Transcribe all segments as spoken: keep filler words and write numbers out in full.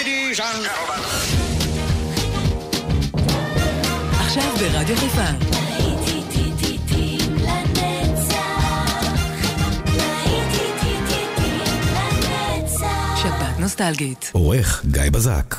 Ladies and gentlemen. עכשיו ברדיו חיפה. שבת נוסטלגית. עורך גיא בזק.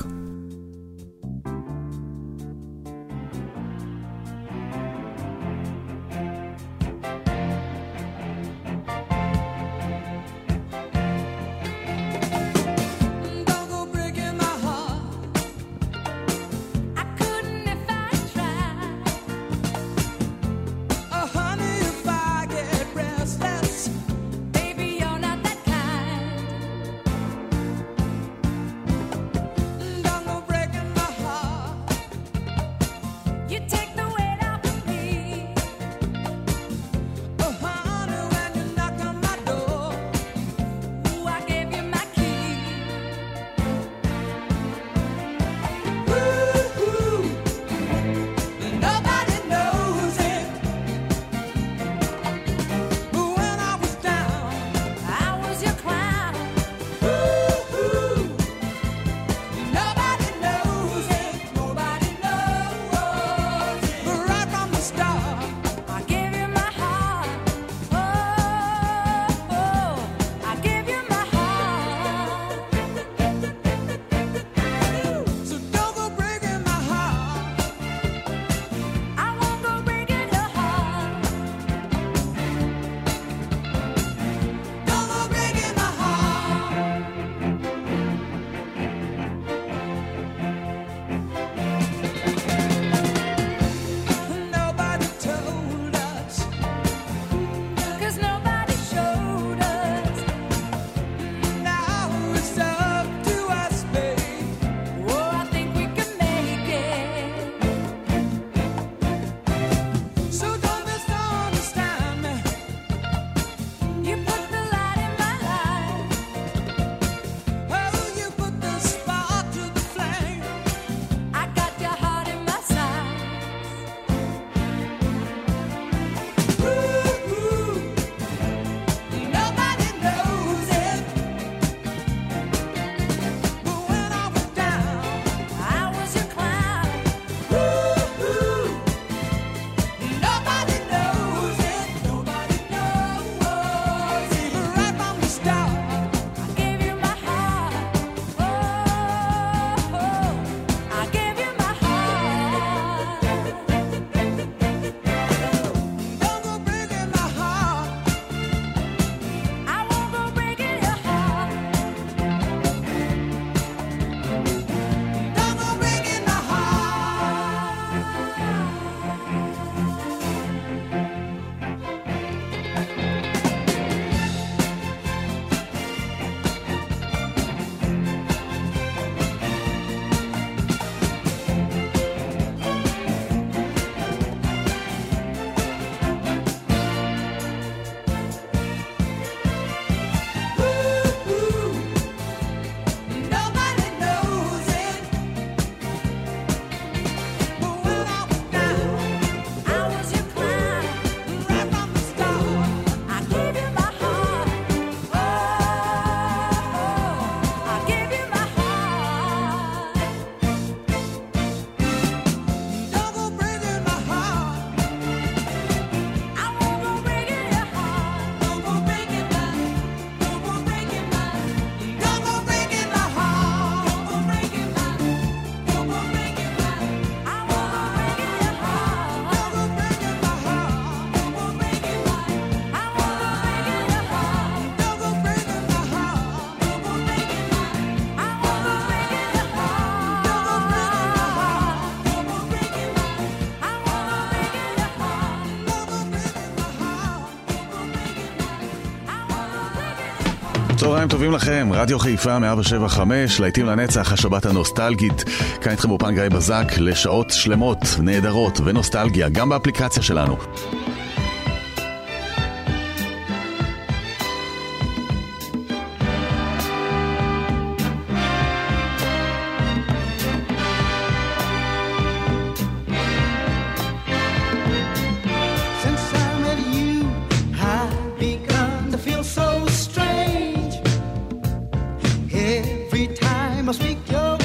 צהריים טובים לכם, רדיו חיפה מאה שבע חמש, להיטים לנצח, השבת הנוסטלגית. כאן איתכם באופן גיא בזק לשעות שלמות, נהדרות ונוסטלגיה, גם באפליקציה שלנו. Speak your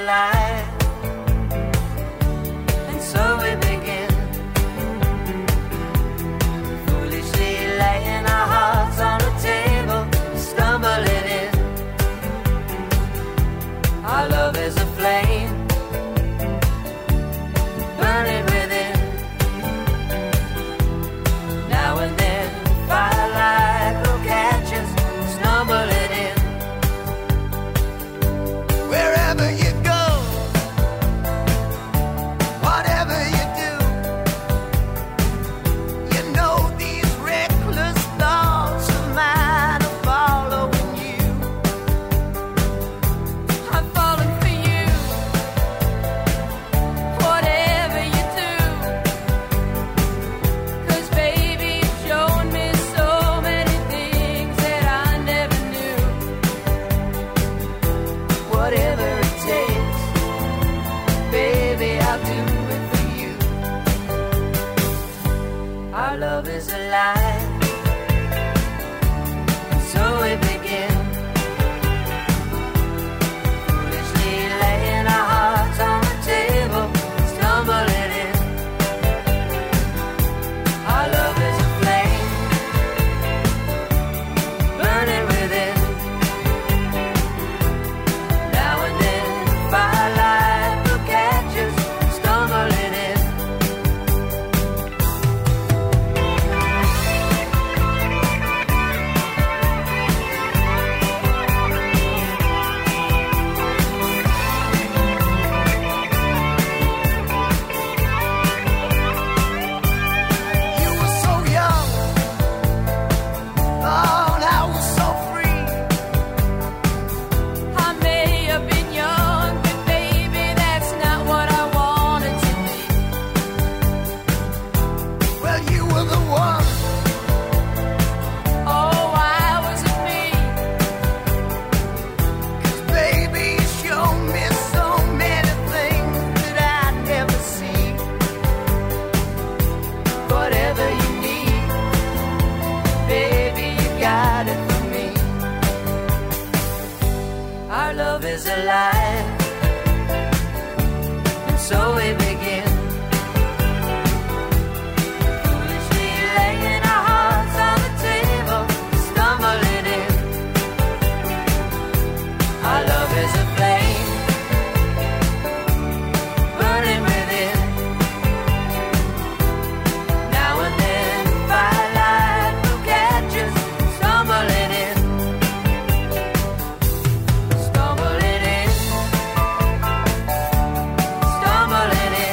alive. And so we begin, foolishly laying our hearts on the table, stumbling in. Our love is a flame, burning within. Now and then, firelight will catch us, stumbling in. Wherever you go, whatever you do, you know these reckless thoughts of mine are following you. I'm falling for you, whatever you do. 'Cause baby, you've shown me so many things that I never knew. Whatever it takes, baby, I'll do it for you. Our love is alive, and so we begin, foolishly laying our hearts on the table, stumbling in. Our love is a flame, burning within. Now and then, firelight will catch us, stumbling in. You were so young, oh, and I was so free. I may have been young, but baby, that's not what I wanted to be. Well, you were the one. Oh, I wasn't me. 'Cause baby, you showed me so many things that I'd never see. Whatever you need, baby, you got it for me. Our love is alive, and so we begin, foolishly laying our hearts on the table, stumbling in. Our love is a flame, burning within. Now and then, firelight will catch us, stumbling in. Stumbling in, stumbling in.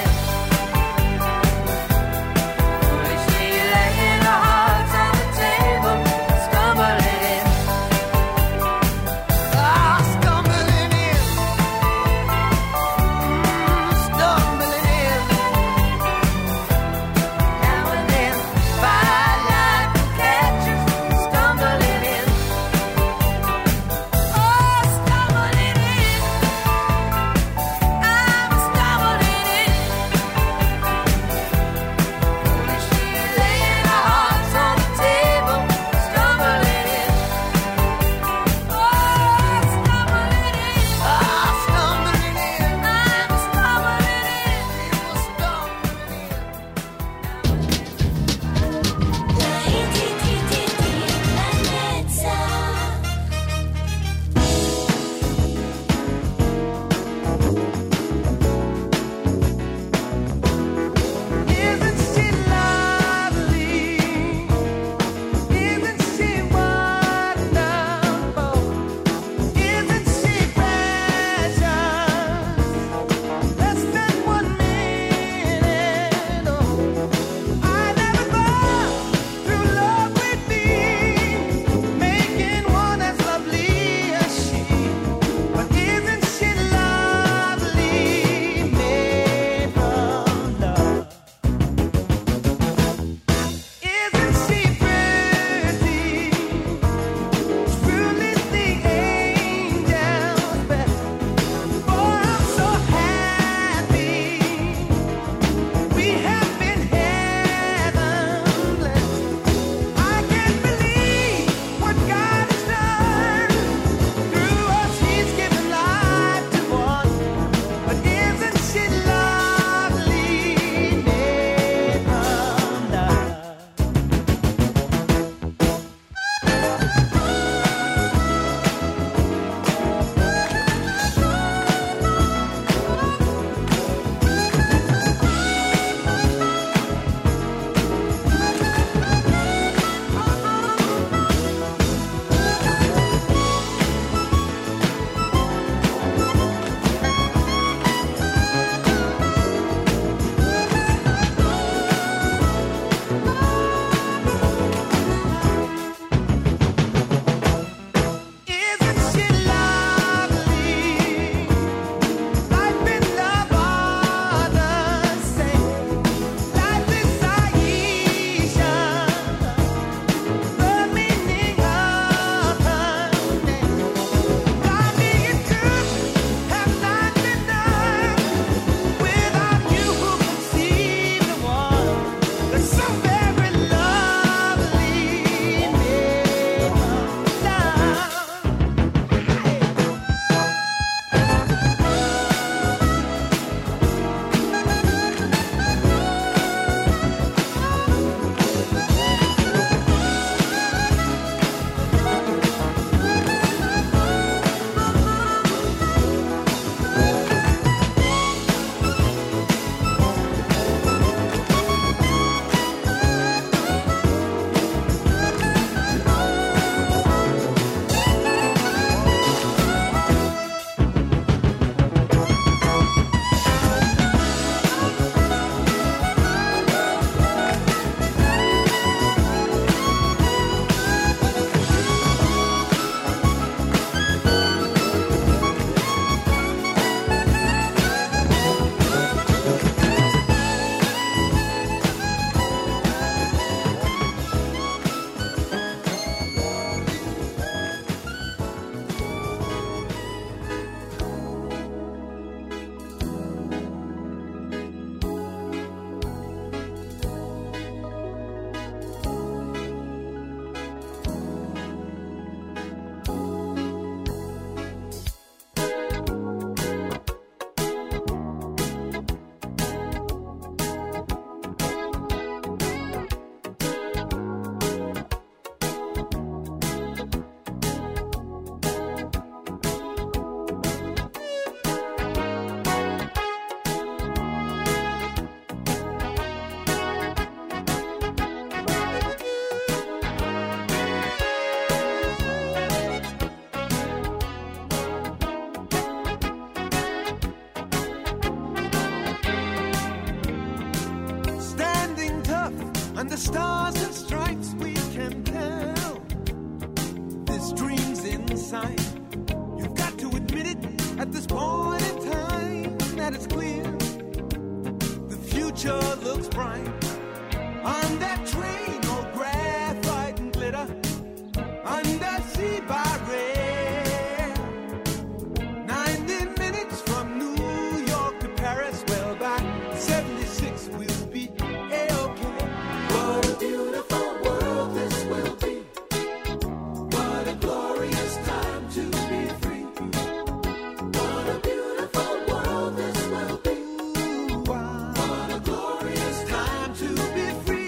stars and stripes we can tell. This dream's inside. You've got to admit it at this point in time that it's clear. The future looks bright. On that train, all graphite and glitter. Undersea by rail. Ninety minutes from New York to Paris. Well, by seventy-six we'll be A-okay. What a beautiful world this will be. What a glorious time to be free. What a beautiful world this will be. What a glorious time to be free.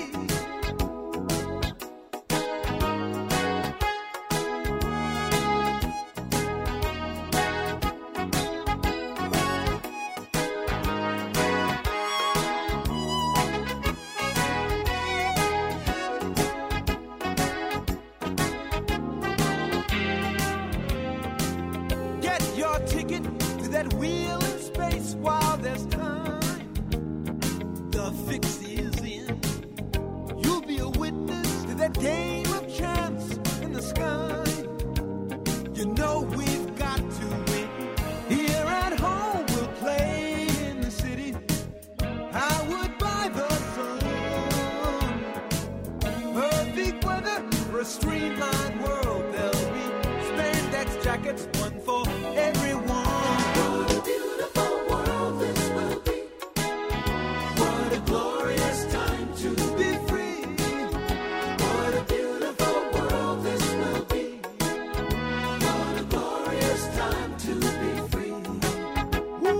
Get your ticket to that wheel in space while there's time. The fix is in. You'll be a witness to that game of chance in the sky. You know we've got to win. Here at home we'll play in the city. I would buy the sun. Perfect weather for a streamlined world. There'll be spandex jackets, one for everyone. What a beautiful world this will be. What a glorious time to be free. What a beautiful world this will be. What a glorious time to be free. Woo.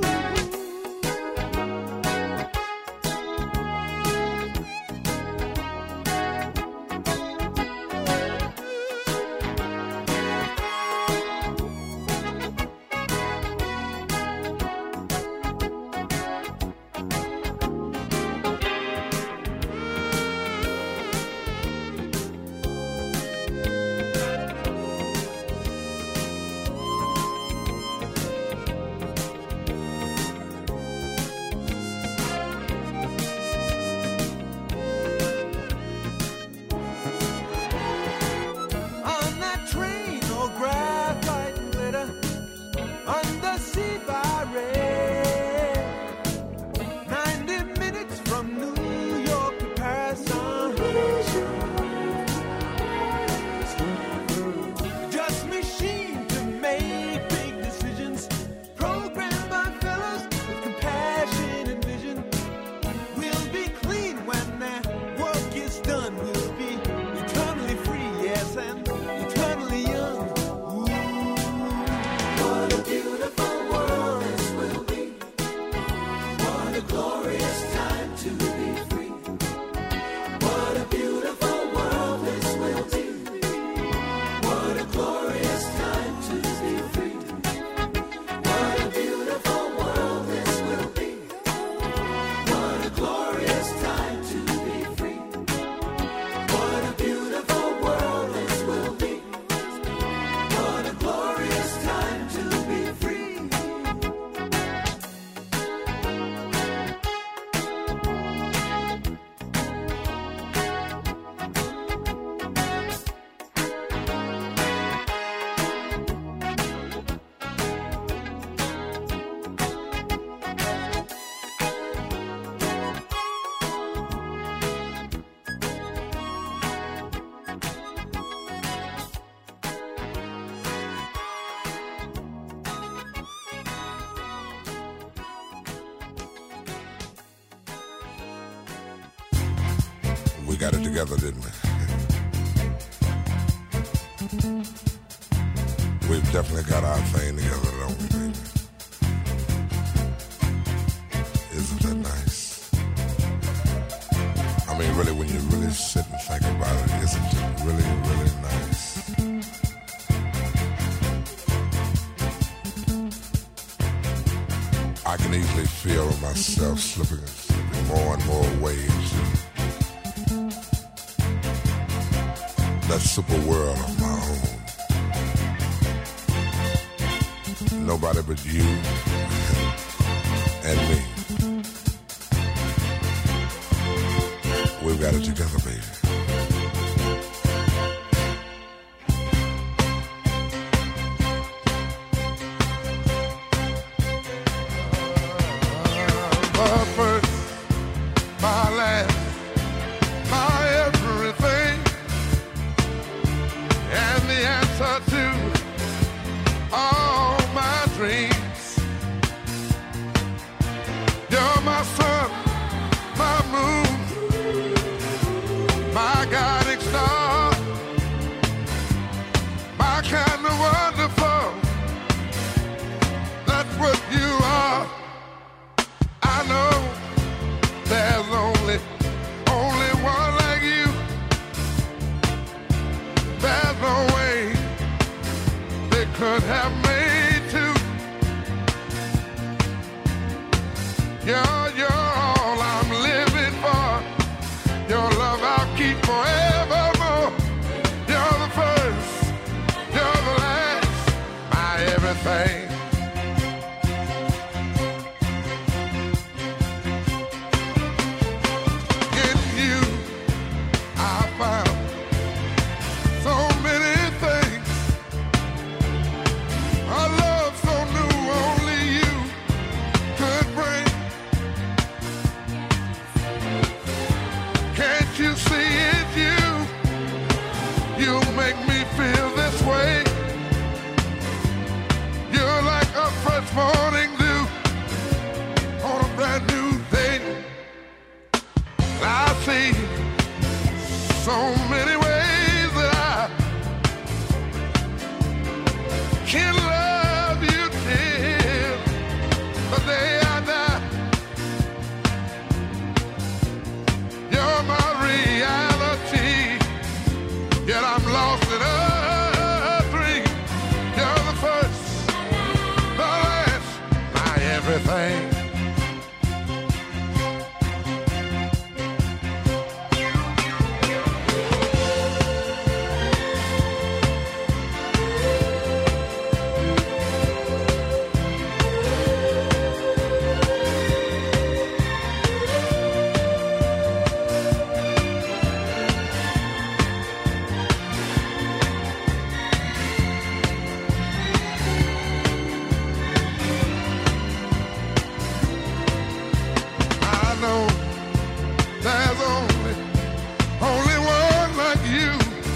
On that train, all graphite and glitter. Undersea by rail. Ninety minutes from New York to Paris. Just machine to make big decisions. Programmed by fellows with compassion and vision. We'll be clean when that work is done. We'll be eternally free, yes, and eternally young. Ooh. What a beautiful world this will be. What a glorious time to be free. What a beautiful world this will be. What a glorious time to be free. What a beautiful world this will be. What a glorious time to be free. What a beautiful world this will be. What a glorious time to be free. We got it together, didn't we? We've definitely got our thing together, don't we, baby? Isn't that nice? I mean, really, when you really sit and think about it, isn't it really, really nice? I can easily feel myself slipping, slipping more and more waves. That super world of my own. Nobody but you and me. We've got it together, baby. my first, my last, my everything, and the answer to all my dreams. You're my sun, my moon, my guiding star, my kind of wonderful. That's what you are. I know there's only, only one like you. There's no way they could have made two. You're, you're all I'm living for. Your love I'll keep forevermore. You're the first, you're the last, my everything. In you I found so many things. A love so new only you could bring. Can't you see it, you? You make me feel this way. You're like a fresh morning dew on a brand new day. I see so many ways that I can love you till the day I die. You're my reality, yet I'm lost in a dream. You're the first, the last, my everything. I know there's only, only one like you.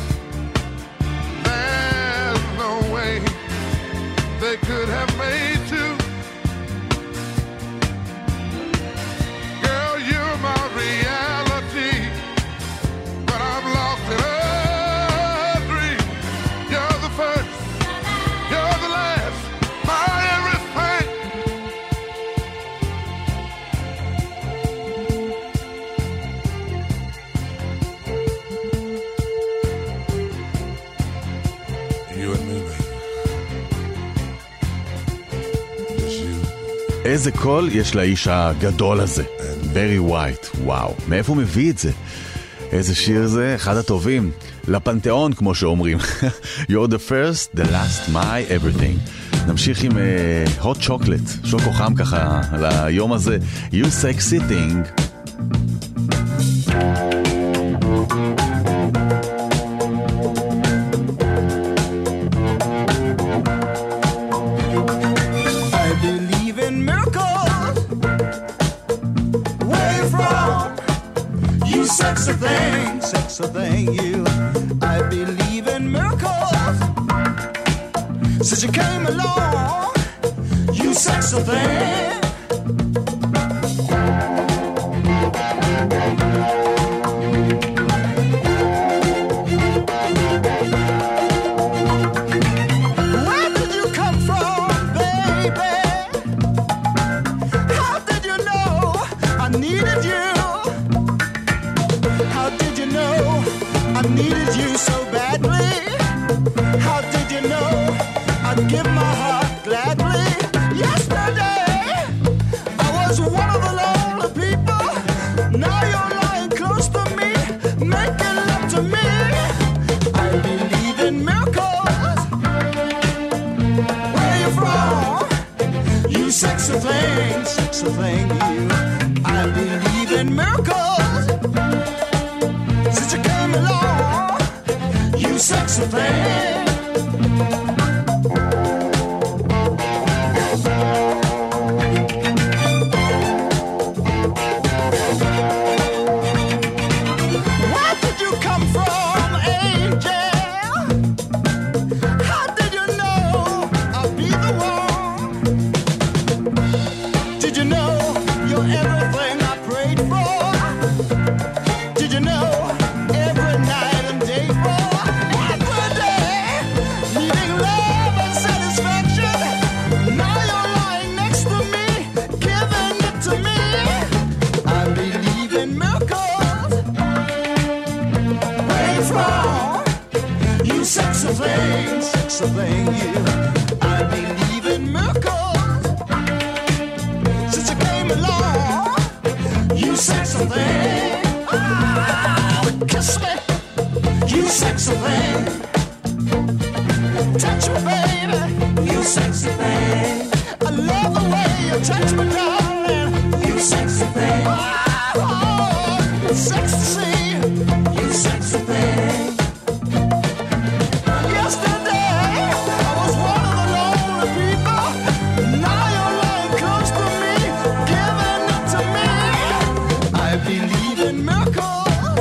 There's no way they could have made two. Girl, you're my reality, but I'm lost in a dream. You're the first, you're the last, my everything. You and me, baby. Just you. איזה קול יש לאיש הגדול הזה, ברי ווייט, וואו, מאיפה הוא מביא את זה? איזה שיר זה? אחד הטובים, לפנתיאון כמו שאומרים. You're the first, the last, my everything. נמשיך עם uh, hot chocolate, שוקו חם ככה על היום הזה, You sexy thing. I believe in miracles. Where you from? You sexy thing, sexy thing, you. I believe in miracles. Since you came along, you sexy thing. Where did you come from, baby? How did you know I needed you? How did you know I needed you so badly? How did you know I'd give my heart gladly? Yesterday I was one of the lonely people. Now you're lying close to me, making love to me. I believe in miracles. Where you from? You sexy thing, sexy thing, you. I believe in miracles. Since you came along, you sexy thing. sexy thing, you. I believe in miracles since you came along. You sexy thing. Ah, kiss me. You sexy thing. Touch me, baby. You sexy thing. I love the way you touch me, darling. You sexy thing. Oh, oh, sexy. You sexy thing. Yesterday I was one of the lonely people. Now you're lying close to me, giving it to me. I believe in miracles.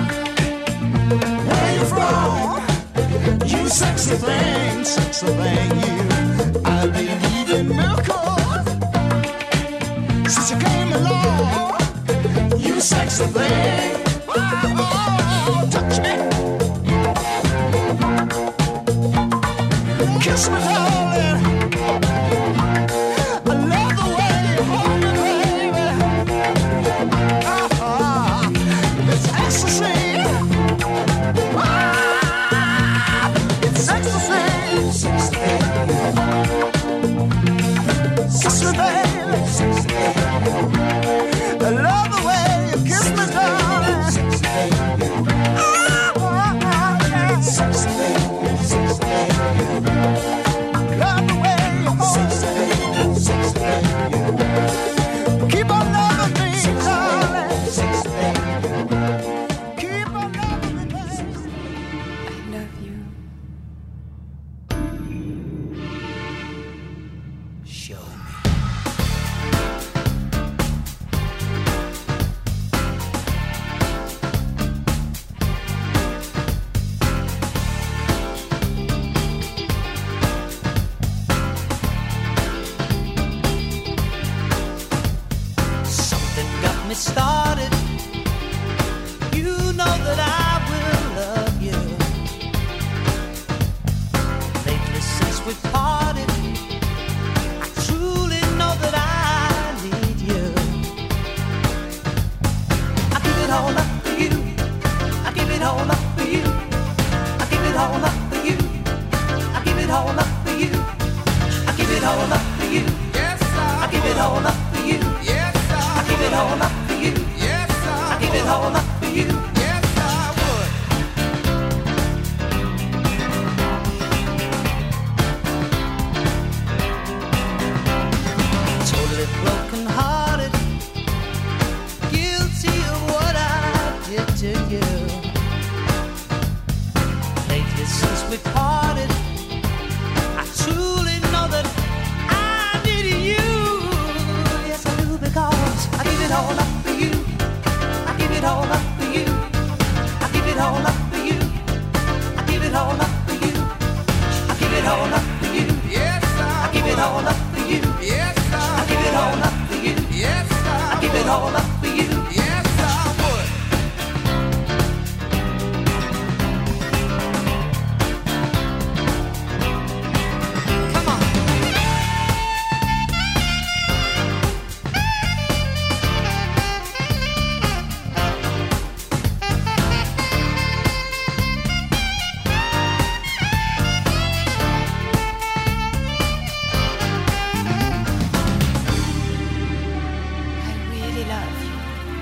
Where you from? You sexy thing, sexy thing, you. I believe in miracles since you came along. You sexy thing. Oh, oh, touch me. Kiss me, darling. I love the way you hold me, baby. Ah, ah, it's ecstasy. Ah, it's ecstasy. Sexy, sexy, baby. I love the way you kiss me, darling. Ah, ah, ah, yeah. Sexy, sexy. Love the way you hold me. Keep on loving me, darling. Keep on loving me, baby. I love you. Show me. Something got me started. You know that I will love you. Lately since we parted, I truly know that I need you. I give it all up for you. I give it all up for you. I give it all up for you. I give it all up for you. I give it all up for you. Yes, I give it all up for you. Yes, I give it all up for you. Yes, I give it all up for you. Yes, I would. Totally broken hearted, guilty of what I did to you. Lately since we parted, I truly know that I need you. Yes, I do, because I give it all up for you. I give it all up for you. I give it all up for you. I give it all up for you. I give it all up for you. Yes, I I give it all would. up for you. Yes, I I give it all would. up for you. Yes, I I give it would. all up for you. Yes, I would. Come on. I really love you.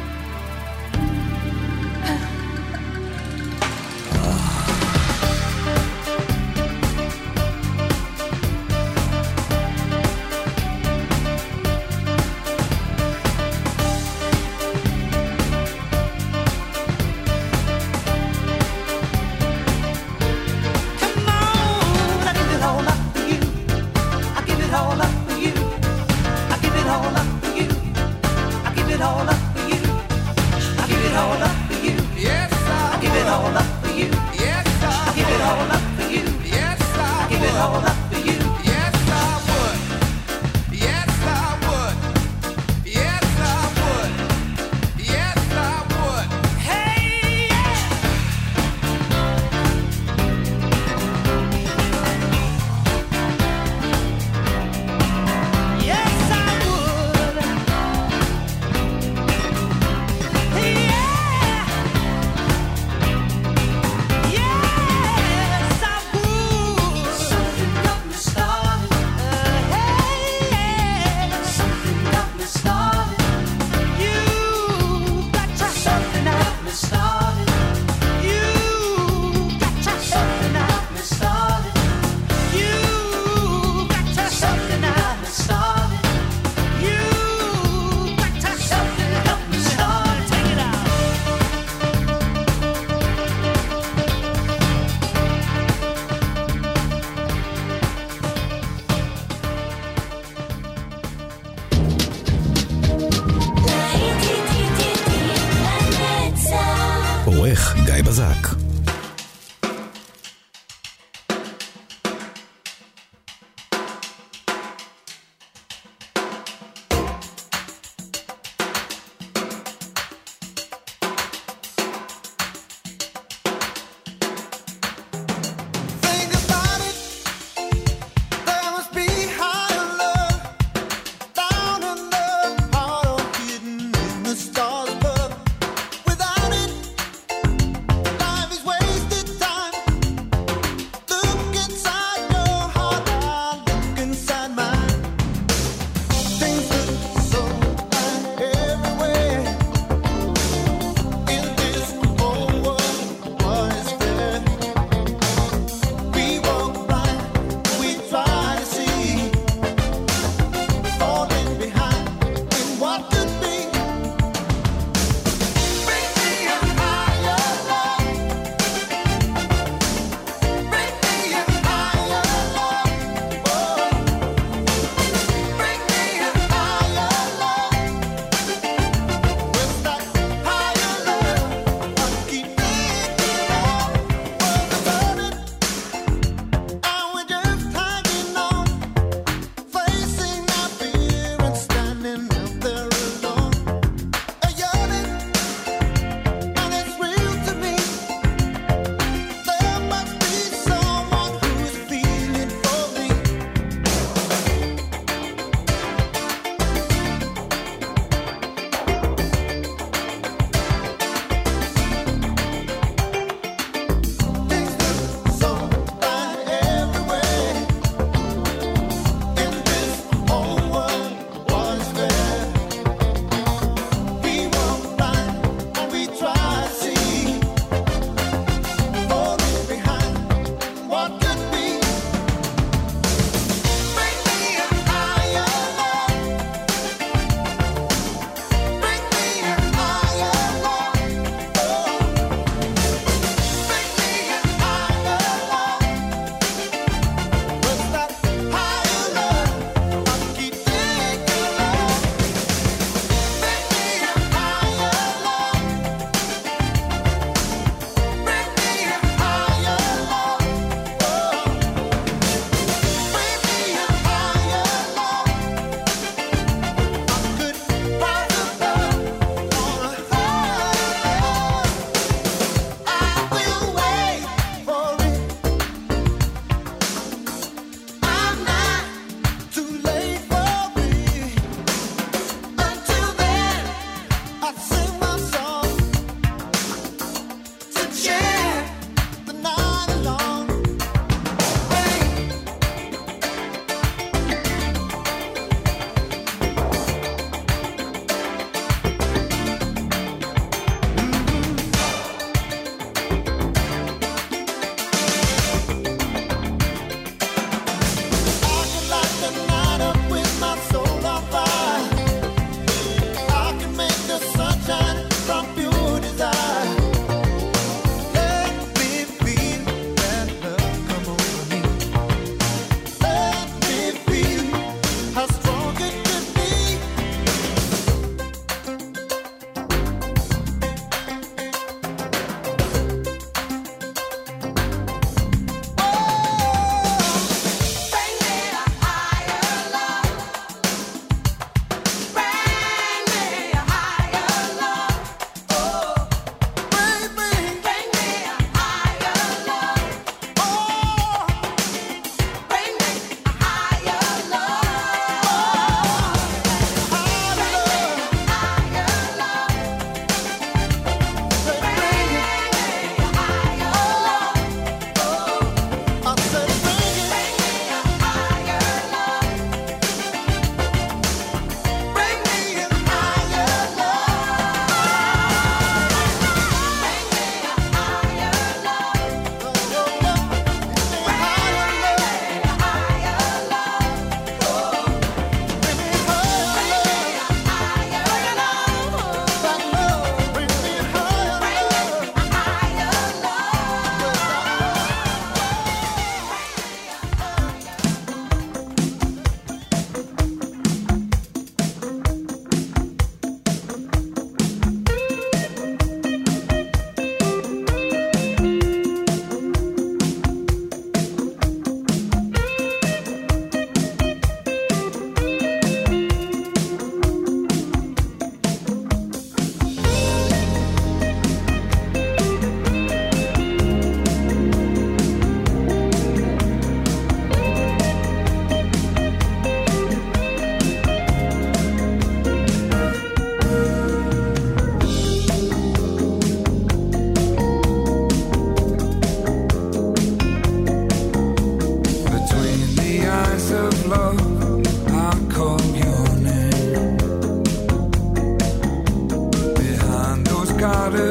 Come on. I give it all up for you. I give it all up for you. I give it all up for you. I give it all up for you. I give it all up for you. Yes, I I give it all would. up for you. Yes, I I give it all would. up for you. Yes, I I give it all would. up for you. Yes, I would. Yes, I would. Yes, I would. Yes, I would. Hey, yeah. Yes, I would. גיא בזק. Stars, but without it, life is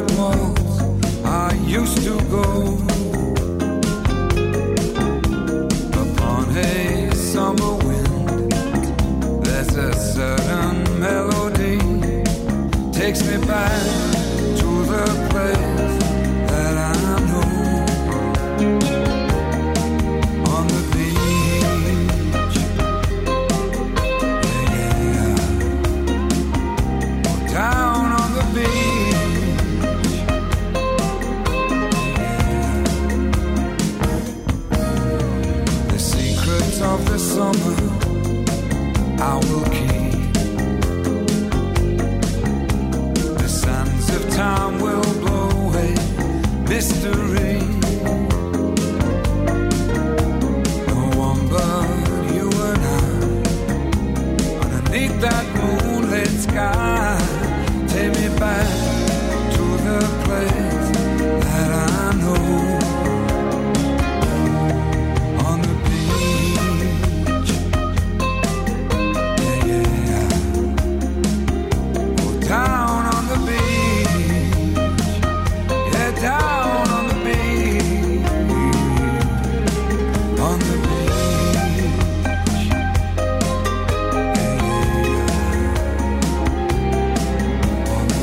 velvet waltz I used to go upon a summer wind. There's a certain melody takes me back to the place that I know. On the beach, yeah, down on the beach, yeah. The secrets of the summer I will keep. The sands of time will blow away mystery. No one but you and I, underneath that moonlit sky. Take me back to the place that I know. On the beach, yeah, yeah. Oh, down on the beach, yeah, down on the beach, on the beach, yeah, yeah. On the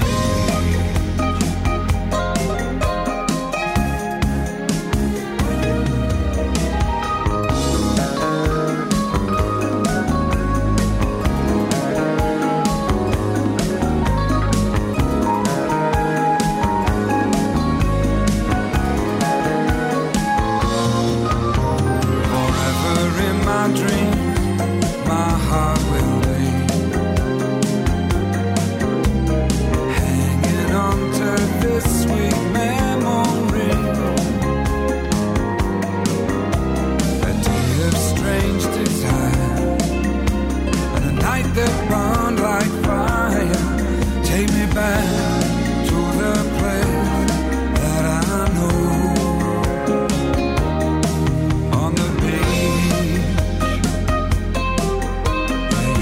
forever in my dream, my heart will be hanging on to this sweet memory. A day of strange desire and a night that burned like fire. Take me back to the place that I know. On the beach, yeah,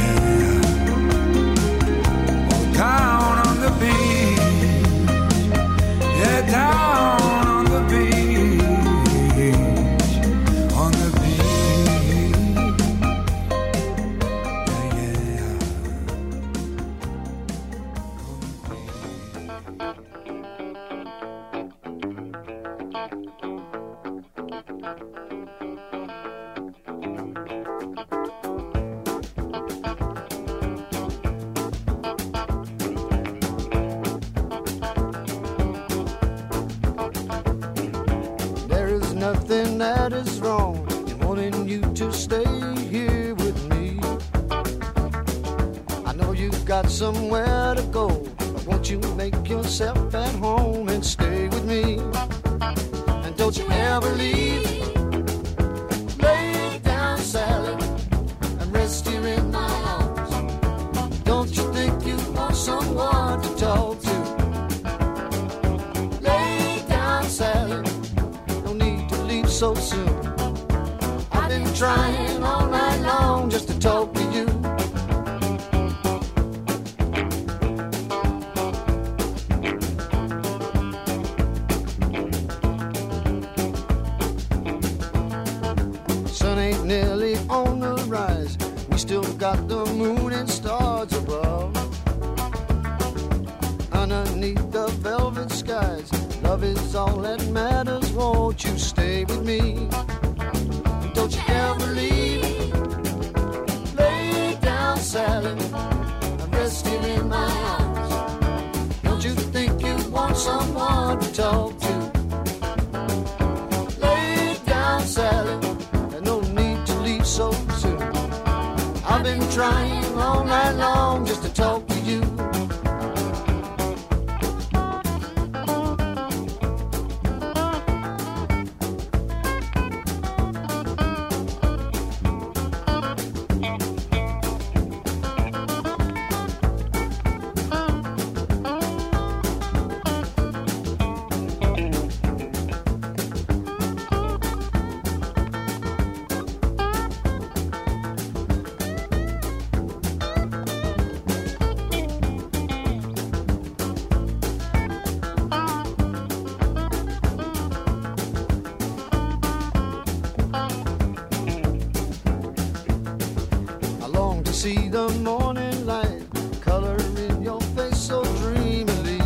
yeah. Oh, down on the beach, yeah, down on the beach, on the beach, yeah, yeah. There is nothing that is wrong in wanting you to stay here with me. I know you've got somewhere to go, but won't you make yourself at home and stay with me? And don't you ever leave. Lay down, Sally, and rest here in my arms. Don't you think you want someone to talk to? Lay down, Sally, no need to leave so soon. I've been trying all night long just to talk to you. Sun ain't nearly on the rise. We still got the moon and stars above. Underneath the velvet skies, love is all that matters. Won't you stay with me? Don't you ever leave. Lay down, Sally, and rest here in my arms. Don't you think you want someone to talk to? Lay down, Sally, and no need to leave so soon. I've been trying all night long just to talk to you. see the morning light color in your face so dreamily.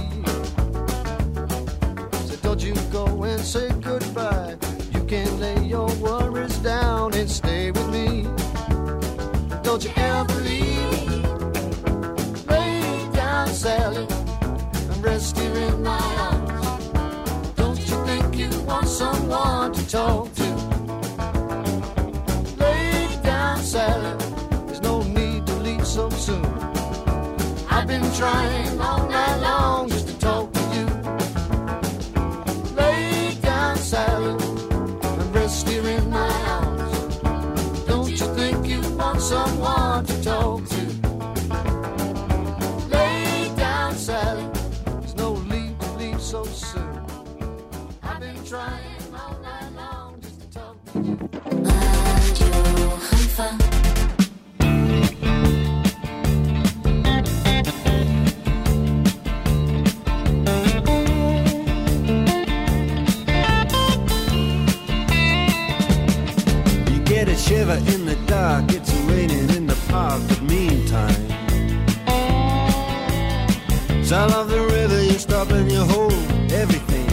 So don't you go and say goodbye. You can lay your worries down and stay with me. Don't you ever leave. Lay down, Sally, and rest here in my arms. Don't you think you want someone to talk to? Lay down, Sally, there's no need to leave so soon. I've been trying all night long just to talk to you. Lay down, Sally, and rest here in my arms. Don't you think you want someone to talk to? Lay down, Sally, there's no need to leave so soon. I've been trying all night long just to talk to you. רדיו חיפה. Get a shiver in the dark, it's raining in the park, but meantime sound of the river, you stop and you hold everything.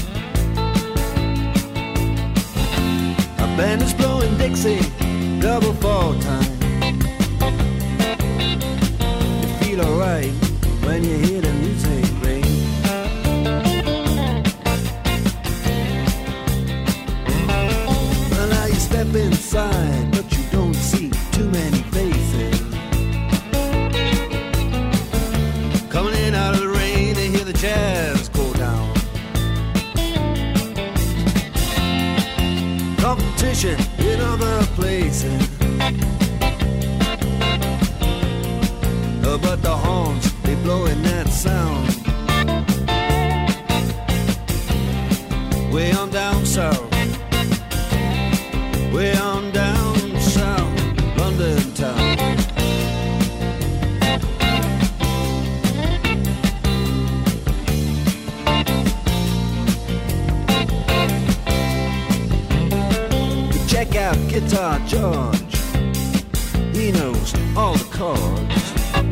A band is blowing Dixie, double fall time. You feel alright when you hear the music ring. Step inside, but you don't see too many faces. Coming in out of the rain, they hear the jazz go down. Competition in other places, oh, but the horns, they blowing that sound. Way on down south, way on down south, London town. Check out Guitar George, he knows all the chords.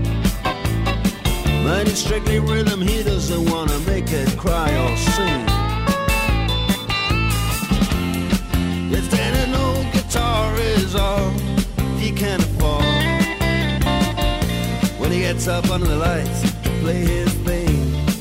But it's strictly rhythm, he doesn't wanna make it cry or sing. If then an old guitar is all he can afford, when he gets up under the lights to play his thing,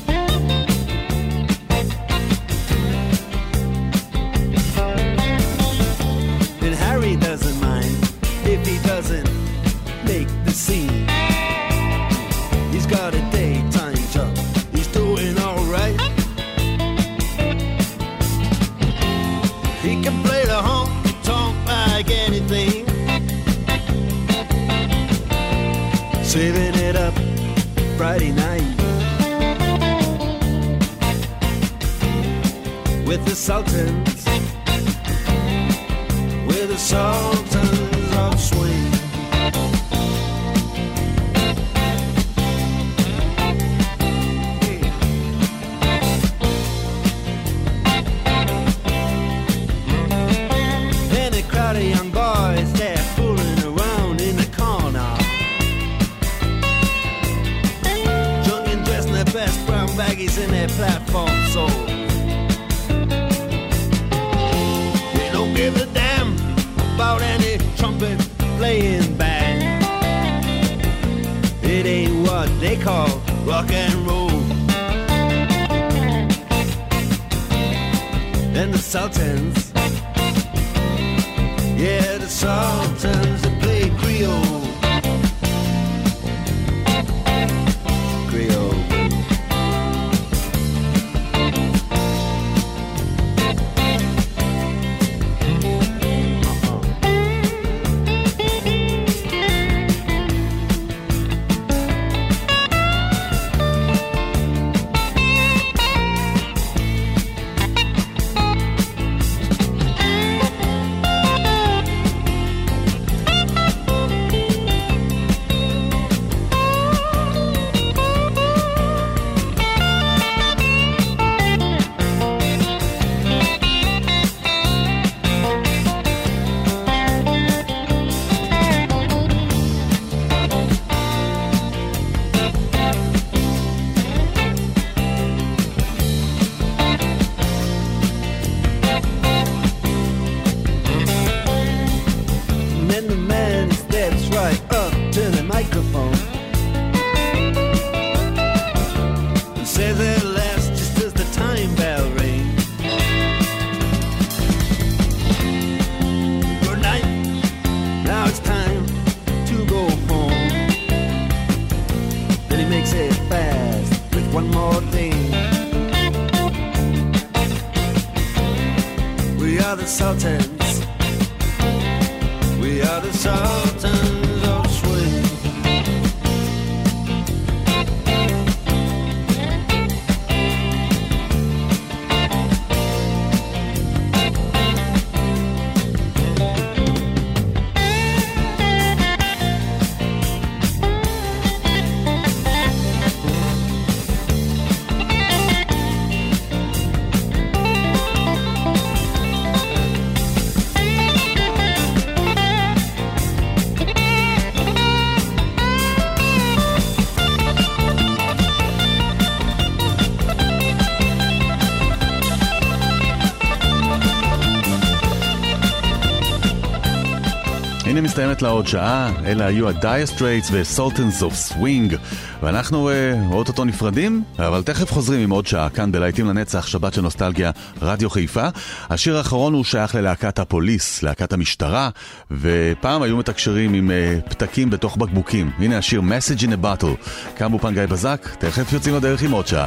then Harry doesn't mind if he doesn't make the scene. He's got a daytime job, he's doing alright. He can play the honky-tonk like anything, saving it up Friday night with the Sultans, with the Sultans of Swing. The young boys, they're fooling around in the corner, drunk and dressed in their best brown baggies in their platform soles. They don't give a damn about any trumpet playing band. It ain't what they call rock and roll. And the Sultans, yeah, the Sultans, they play Creole. Creole. one more day. We are the Sultans. We are the Sultans of swing. הנה מסתיימת לה עוד שעה, אלה היו ה-Dire Straits ו-Sultans of Swing, ואנחנו uh, אוטוטו נפרדים, אבל תכף חוזרים עם עוד שעה, כאן בלהיטים לנצח, שבת של נוסטלגיה, רדיו חיפה. השיר האחרון הוא שייך ללהקת הפוליס, להקת המשטרה, ופעם היו מתקשרים עם uh, פתקים בתוך בקבוקים. הנה השיר Message in a Bottle, כאן באופן גיא בזק, תכף יוצאים לדרך עם עוד שעה.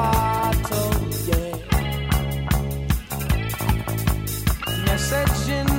Message in